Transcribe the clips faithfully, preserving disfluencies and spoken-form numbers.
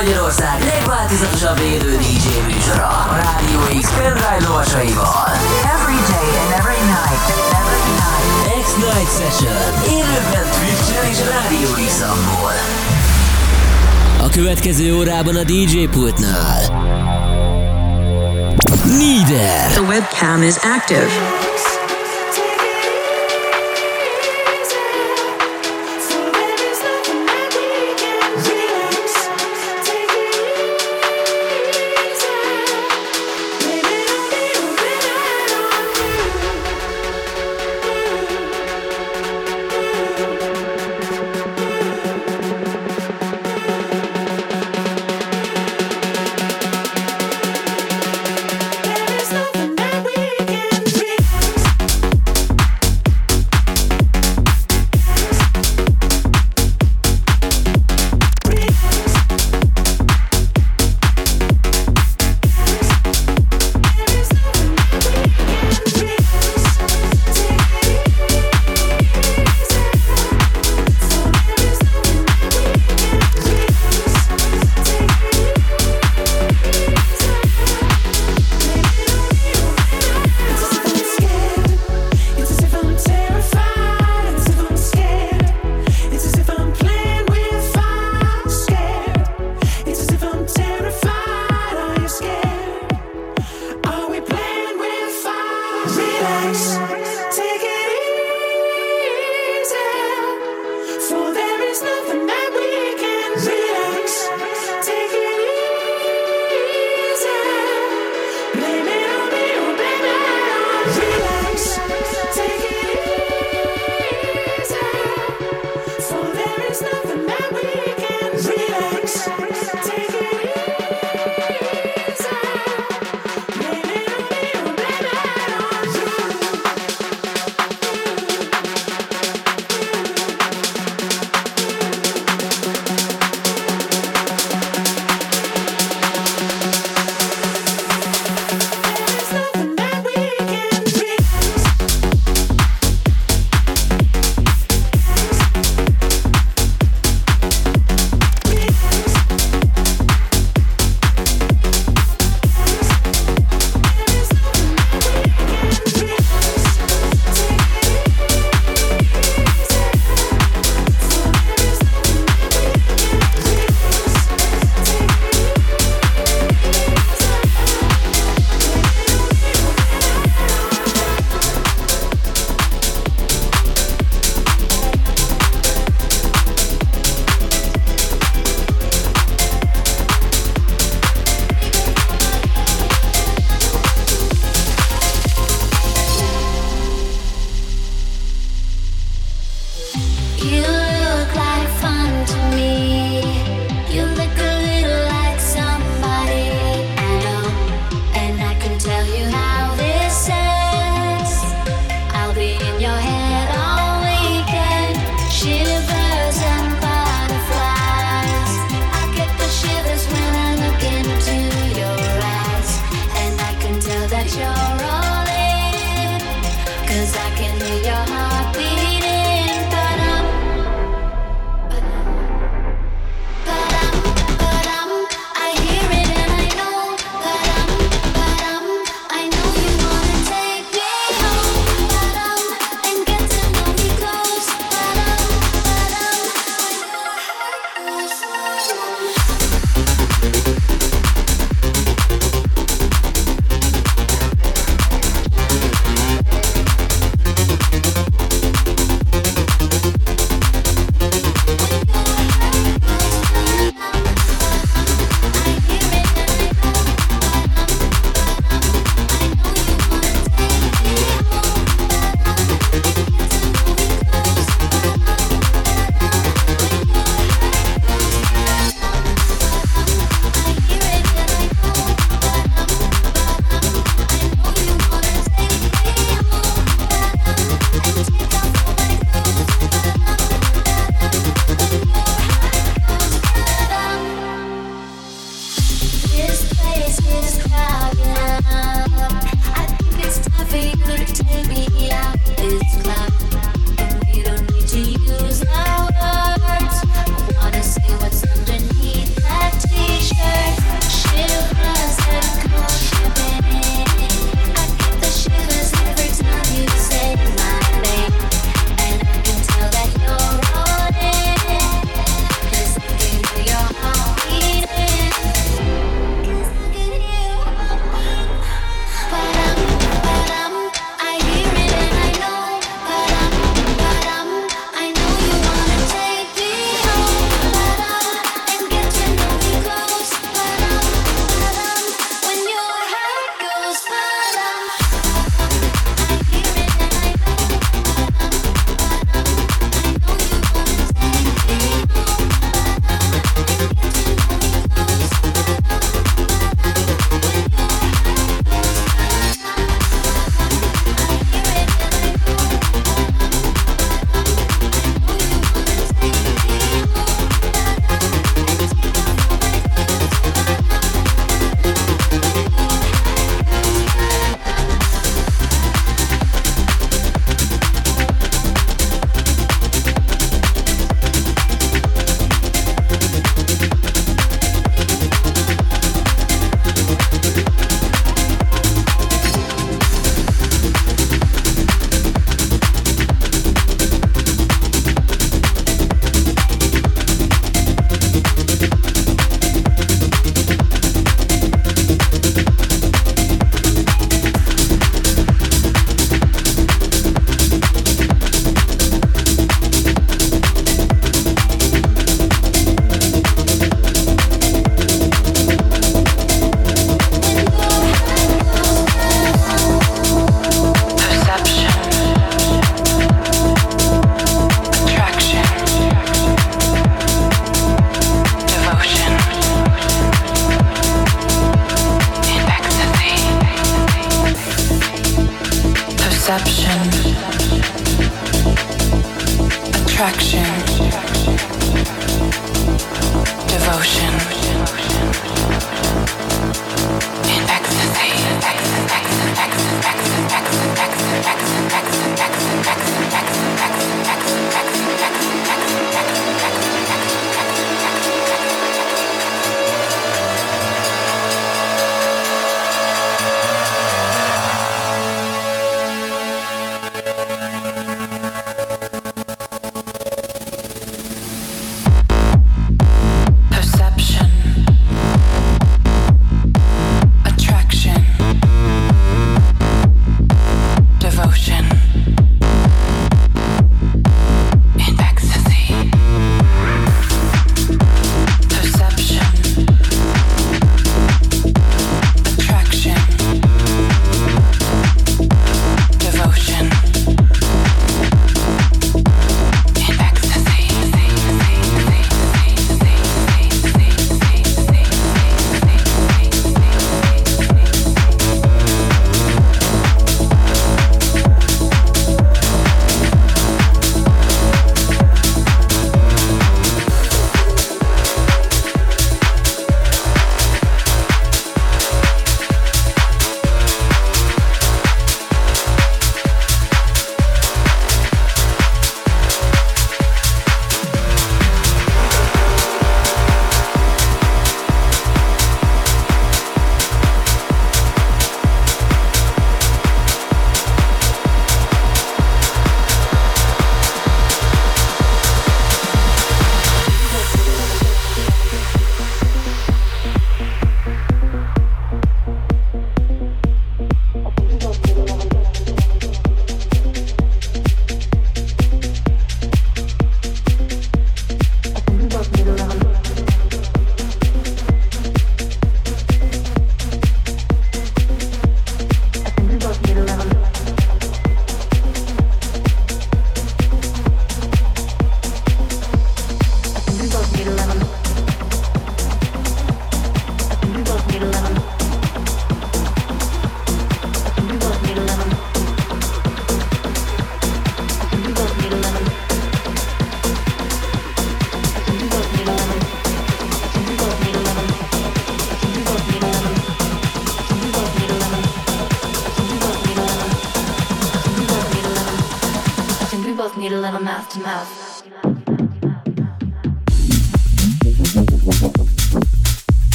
Magyarország legváltozatosabb élő dé dzsé műsora a Rádió X pendrive lovasaival. Every day and every night, every night. X-Night Session. Élőben Twitch-en és Rádió X-amból. A következő órában a dé dzsé pultnál Needer. The webcam is active. There's nothing that we can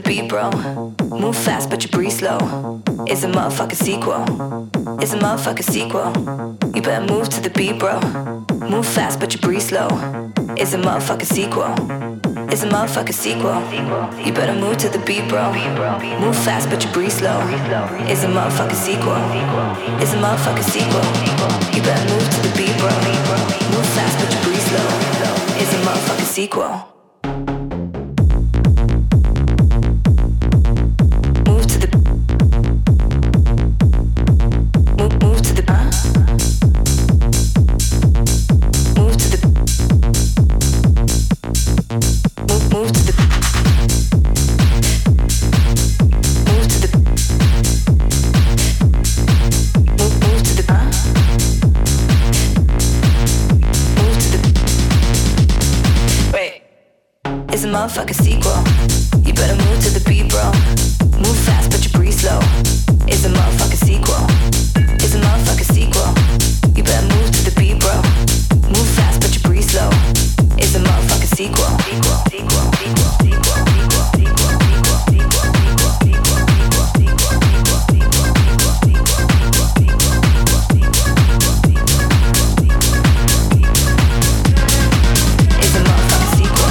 beat, bro. Move fast, but you breathe slow. It's a motherfucking sequel. It's a motherfucking sequel. You better move to the beat, bro. Move fast, but you breathe slow. It's a motherfucking sequel. It's a motherfucking sequel. You better move to the beat, bro. Move fast, but you breathe slow. It's a motherfucking sequel. It's a motherfucking sequel. You better move to the beat, bro. Move fast, but you breathe slow. It's a motherfucking sequel. Motherfucking sequel. You better move to the beat, bro. Move fast, but you breathe slow. It's a motherfucking sequel. It's a motherfucking sequel. You better move to the beat, bro. Move fast, but you breathe slow. It's a motherfucking sequel. Sequel, sequel, sequel, sequel, sequel, sequel, sequel, sequel, sequel, sequel, sequel, sequel, sequel, sequel, sequel, sequel, It's a motherfucking sequel.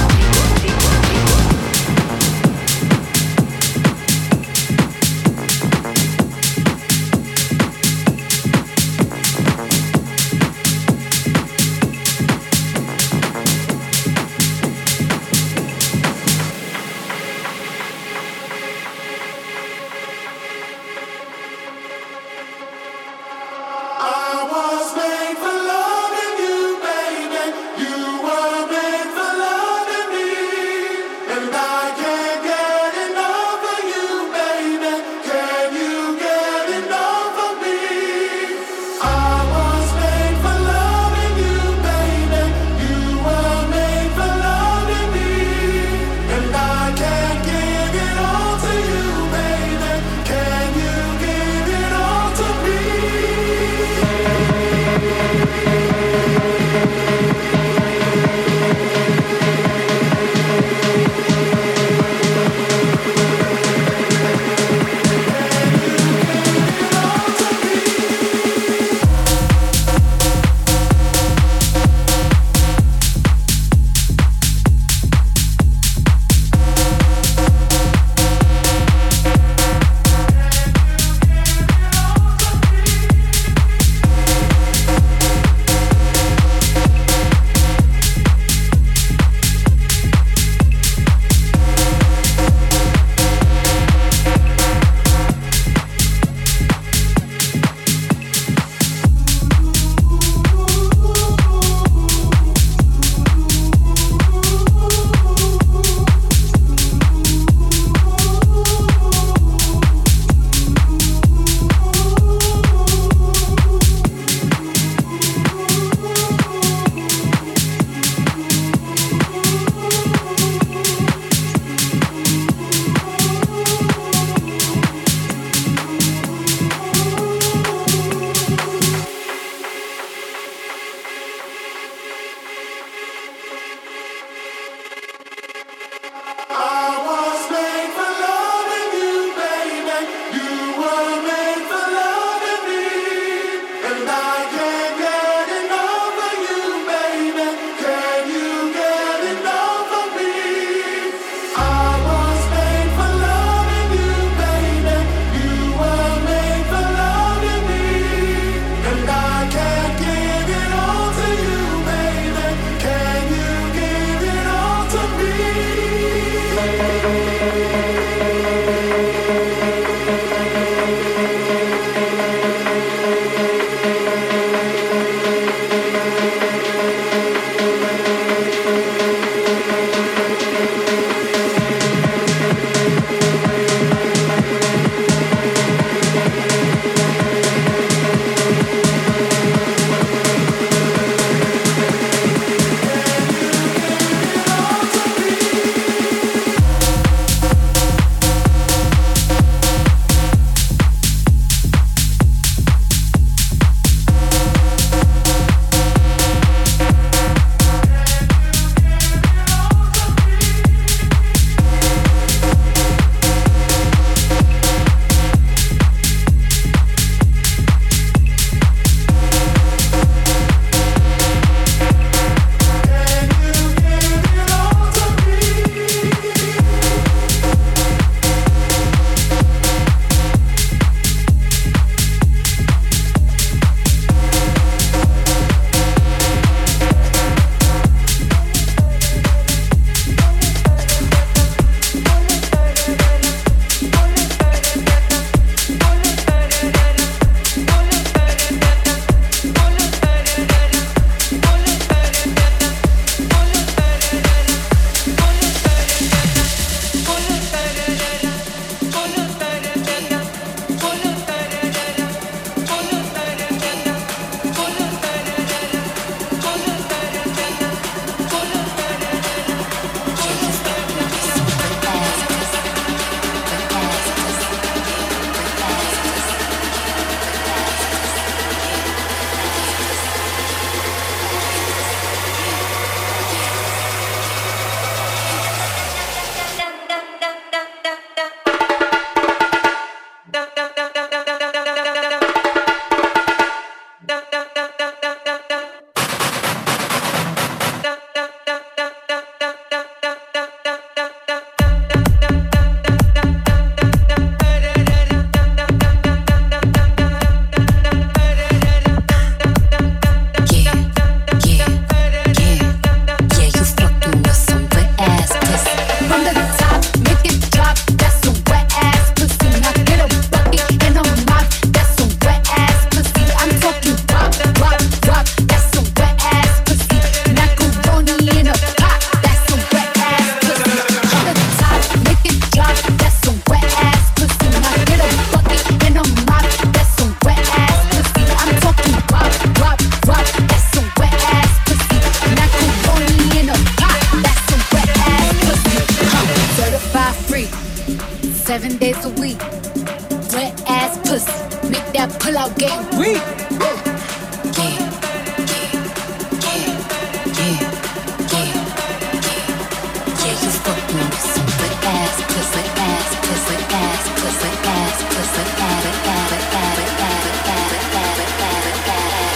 seven days a week. Wet ass pussy, make that pull out game weak. Yeah, yeah, yeah, yeah, yeah, yeah. Yeah, you fucking with some wet ass pussy, ass pussy, ass pussy, ass pussy, add it, add it, add it, add it, add it, add it, add it, add it.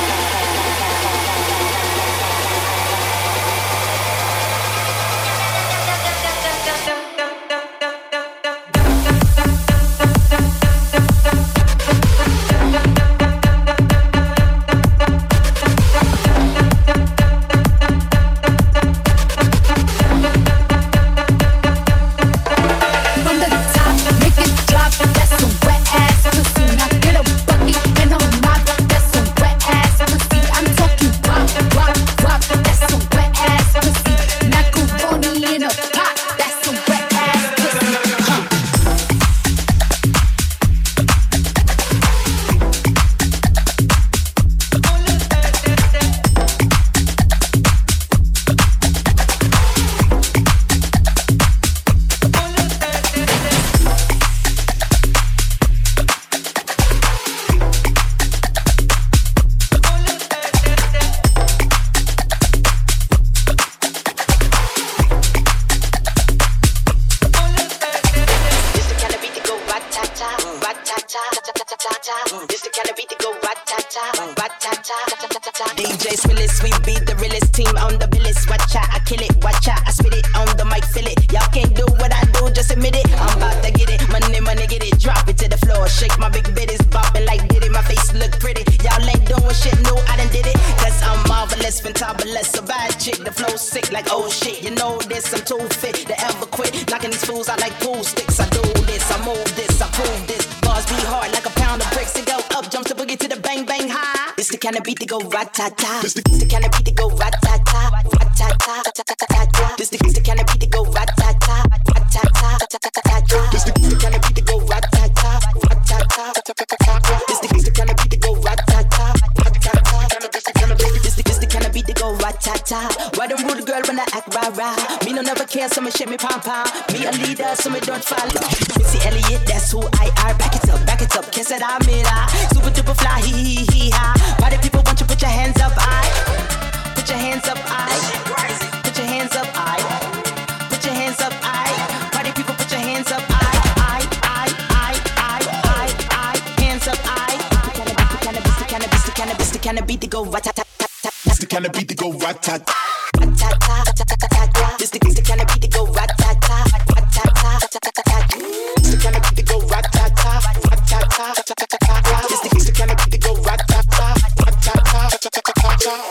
Rat-ta-ta. This the, the kind of beat that go rat-ta-ta, rat-ta-ta, rat-ta-ta. This the, the kind of beat that go rat-ta-ta, rat-ta-ta, rat-ta-ta. This the, the kind of beat that go rat-ta-ta, rat-ta-ta, rat-ta-ta. This the, the kind of beat that go rat-ta-ta, rat-ta-ta. This the, this the kind of beat that go rat-ta-ta. Why don't rude girl when I act rah-rah? Me no never care, so me shake me pom-pom. Me a leader, so me don't follow. Missy Elliott, that's who I are. Back it up, back it up, kiss it, I'm it, ah. Super duper fly, hee hee hee ha. Party people want you put your hands up, I. Put your hands up, I. Put your hands up, I. Put your hands up, I. Party people put your hands up, I. I, I, I, I, I, I. Hands up, I. The cannabis, the cannabis, the cannabis, the cannabis to go rat-ta-ta-ta-ta. It's the cannabis to go rat-ta-ta. Rat-ta-ta-ta-ta-ta. This the cannabis to go rat-ta-ta. Rat-ta-ta-ta-ta-ta. It's the cannabis to go rat-ta-ta. Rat-ta-ta-ta-ta-ta. This the cannabis to go rat-ta-ta. Rat-ta-ta-ta-ta-ta.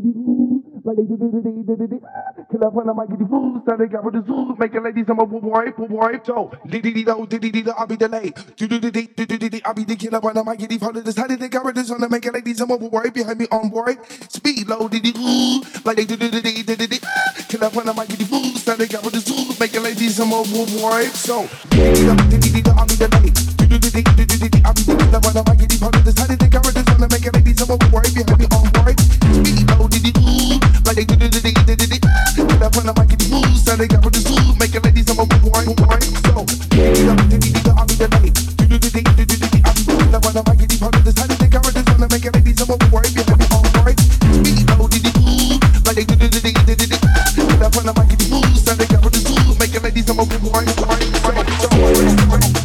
like they did it. Kill up when I might get the food, so they got with the zoo, make a lady some more wipe, wipe, so diddy-dee-do, diddy-dee-do, I'll be delayed. Do-do-do-do-do-do-do, I'll be the killer when I might get the phone. Decided they got with this on to make a lady some more wipe, behind me on board. Speed low, diddy-doo, like they did it. Kill up when I might get the food, so they got with the zoo, make a lady some more wipe, so diddy-dee-do, diddy-dee-do, I'll be delayed. Do-do-do-do-do-do-do, I'll be the killer when I might get the phone. Decided they got with this on to make a lady some more wipe, behind me on board. Speed low, diddy-doo, like they did it. Kill up when I might get the food, so they got with the zoo, make a lady some more wipe, wipe, so diddy-do, I'll be delayed. Do-do-do-do-do-do-do, I'll be the killer when I might get the phone. Decided they got with this on to make a lady some more wipe, behind me on board. Speed low, diddy-doo, like they did it. Kill up when I might get the food, so they got with the zoo, make a lady some more wipe, wipe, wipe, so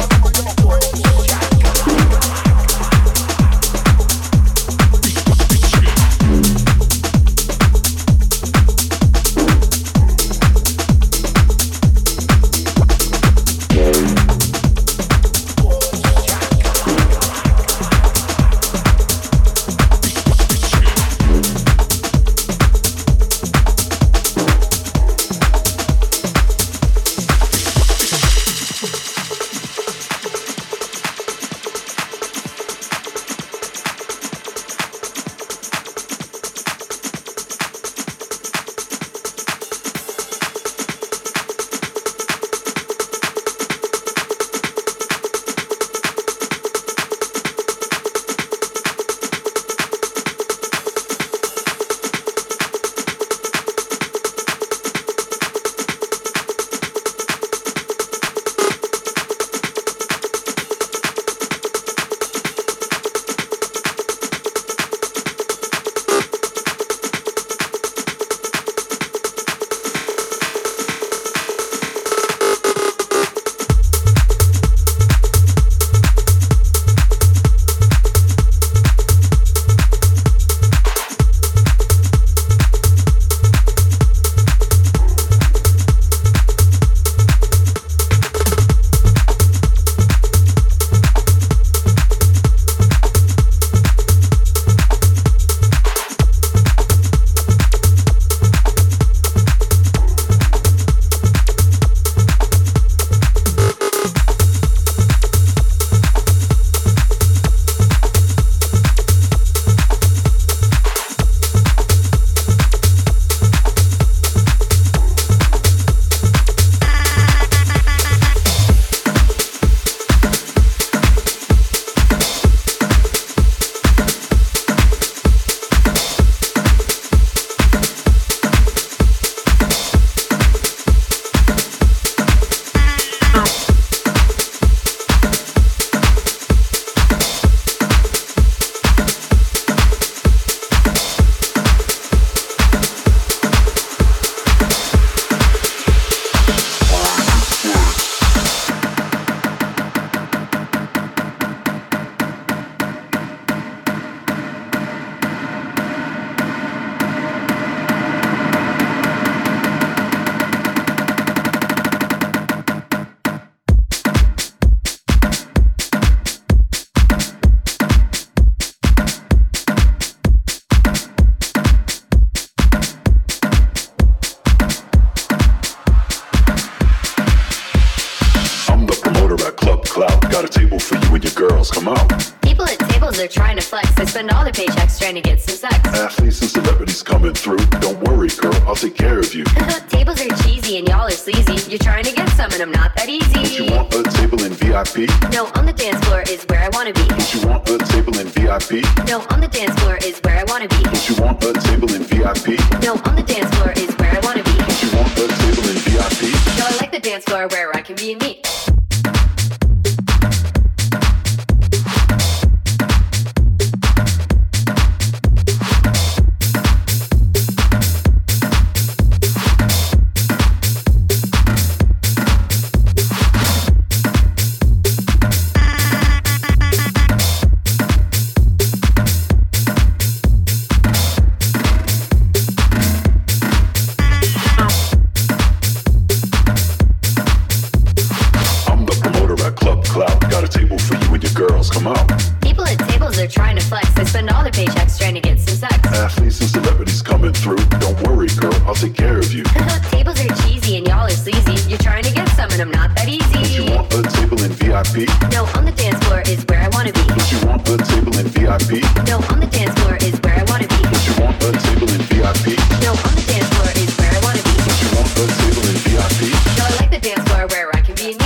Spend all their paychecks trying to get some sex. Athletes and celebrities coming through. Don't worry, girl, I'll take care of you. Tables are cheesy and y'all are sleazy. You're trying to get some and I'm not that easy. Don't you want a table in V I P? No, on the dance floor is where I wanna be. Don't you want a table in V I P? No, on the dance floor is where I wanna be. Don't you want a table in V I P? No, on the dance floor is where I wanna be. Don't you want a table in V I P? No, I like the dance floor where I can be me. P? No, on the dance floor is where I wanna be. Don't you want a table in V I P? No, on the dance floor is where I wanna be. Don't you want a table in V I P? No, on the dance floor is where I wanna be. Don't you want a table in V I P? No, I like the dance floor where I can be me.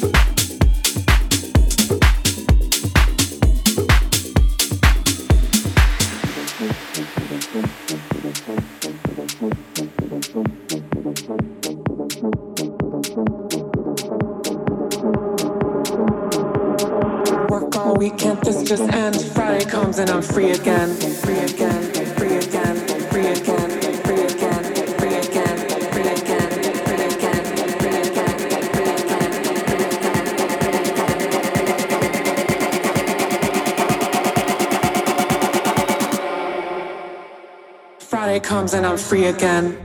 Weekend, this just ends. Friday comes and I'm free again. Free again, free again, free again, free again, free again, free again, free again, free again, free again. Friday comes and I'm free again.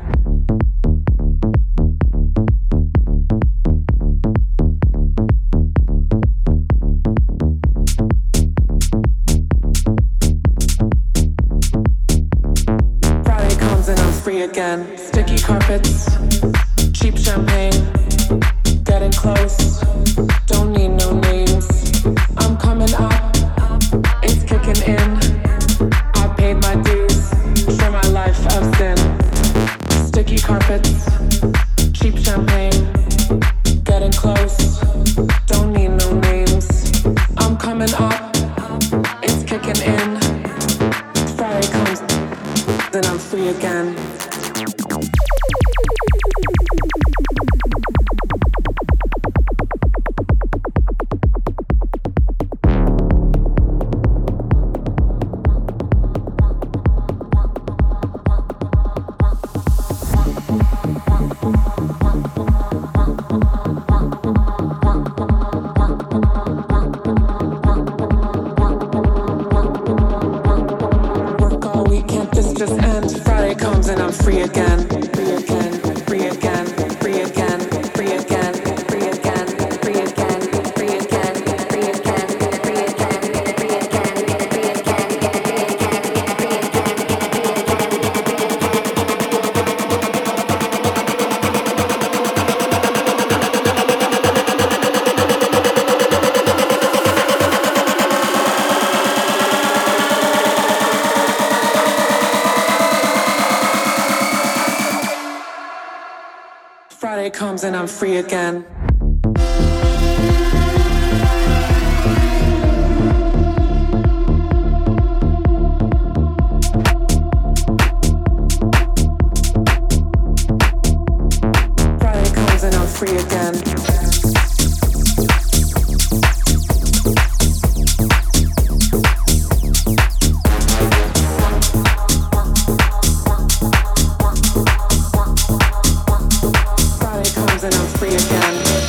Again. Sticky carpets, cheap champagne, getting close, don't need no names. I'm coming up, it's kicking in. I paid my dues for my life of sin. Sticky carpets, cheap champagne, getting close, don't need no names. I'm coming up, it's kicking in. Friday comes, then I'm free again. And I'm free again, free again, free again, free again, free again, free again, free again, free again, free again, free again, free Friday comes and I'm free again. Friday comes and I'm free again. And I'm free again.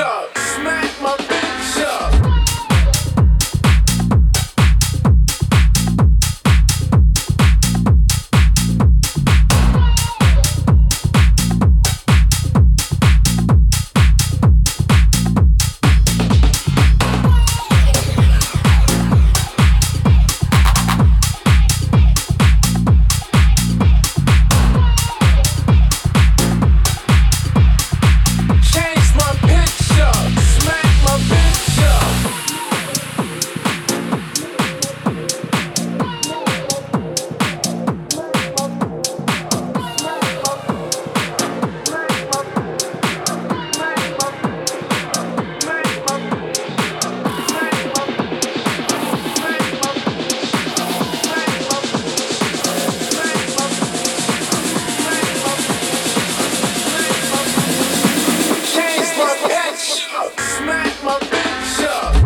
up, smack my bitch up. Smack my bitch up.